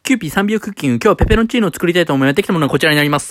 キューピー3秒クッキング。今日はペペロンチーノを作りたいと思いやってきたものはこちらになります。